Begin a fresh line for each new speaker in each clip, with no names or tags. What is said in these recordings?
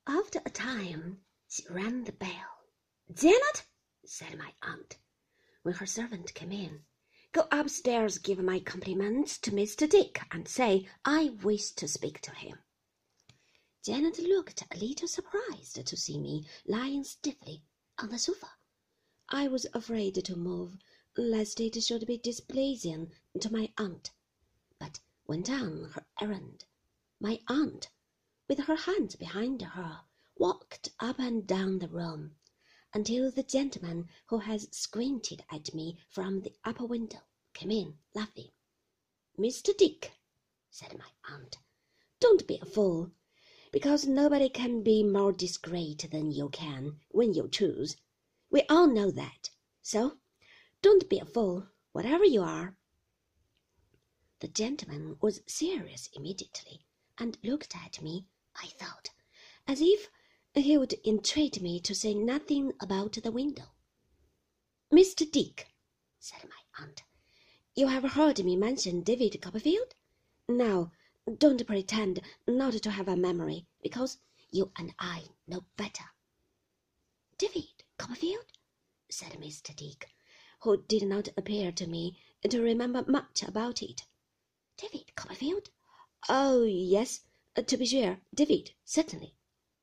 After a time, she rang the bell. "Janet," said my aunt, when her servant came in, "go upstairs, give my compliments to Mr. Dick, and say I wish to speak to him." Janet looked a little surprised to see me lying stiffly on the sofa. I was afraid to move, lest it should be displeasing to my aunt, but went on her errand. My aunt, with her hands behind her, walked up and down the room until the gentleman who had squinted at me from the upper window came in, laughing. "Mr. Dick," said my aunt, "don't be a fool, because nobody can be more discreet than you can when you choose. We all know that, so don't be a fool, whatever you are." The gentleman was serious immediately, and looked at me, I thought, as if he would entreat me to say nothing about the window. "Mr. Dick," said my aunt, "you have heard me mention David Copperfield? Now, don't pretend not to have a memory, because you and I know better." "David Copperfield?" said Mr. Dick, who did not appear to me to remember much about it. "David Copperfield? Oh, yes, to be sure, David, certainly."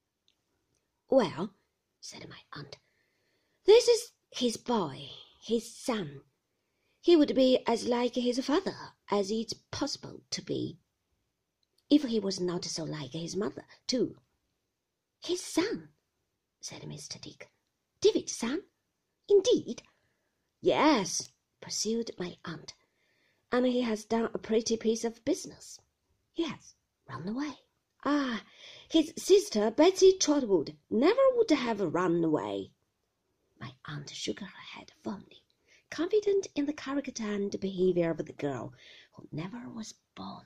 "Well," said my aunt, "this is his boy, his son. He would be as like his father as it's possible to be, if he was not so like his mother, too." "His son?" said Mr. Dick. "David's son? Indeed?" "Yes," pursued my aunt, "and he has done a pretty piece of business. He has run away." "Ah, his sister Betsy Trotwood never would have run away." My aunt shook her head fondly, confident in the character and behaviour of the girl who never was born.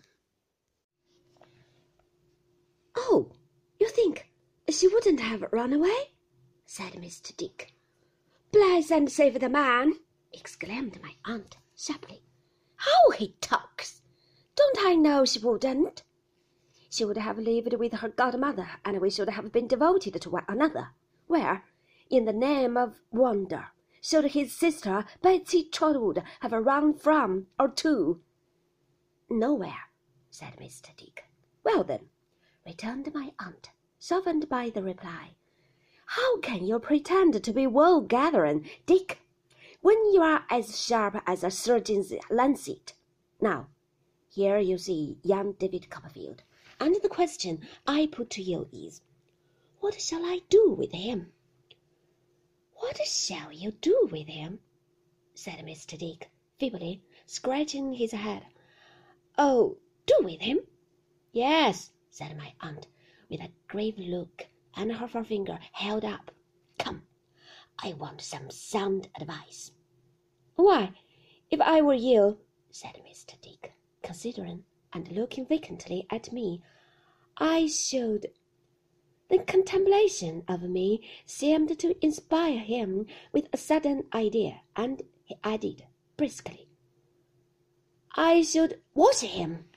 "Oh, you think she wouldn't have run away?" said Mr. Dick. "Bless and save the man!" exclaimed my aunt sharply. "How he talks! Don't I know she wouldn't? She would have lived with her godmother, and we should have been devoted to one another. Where, in the name of wonder, should his sister Betsy Trotwood have run from or to?" "Nowhere," said Mr. Dick. "Well, then," returned my aunt, softened by the reply, "how can you pretend to be wool-gathering, Dick, when you are as sharp as a surgeon's lancet? Now, here you see young David Copperfield, and the question I put to you is, what shall I do with him?" "What shall you do with him?" said Mr. Dick, feebly, scratching his head. "Oh, do with him?" "Yes," said my aunt, with a grave look, and her forefinger held up. "Come, I want some sound advice." "Why, if I were you," said Mr. Dick, considering and looking vacantly at me, "I should—" The contemplation of me seemed to inspire him with a sudden idea, and he added briskly, "I should wash him."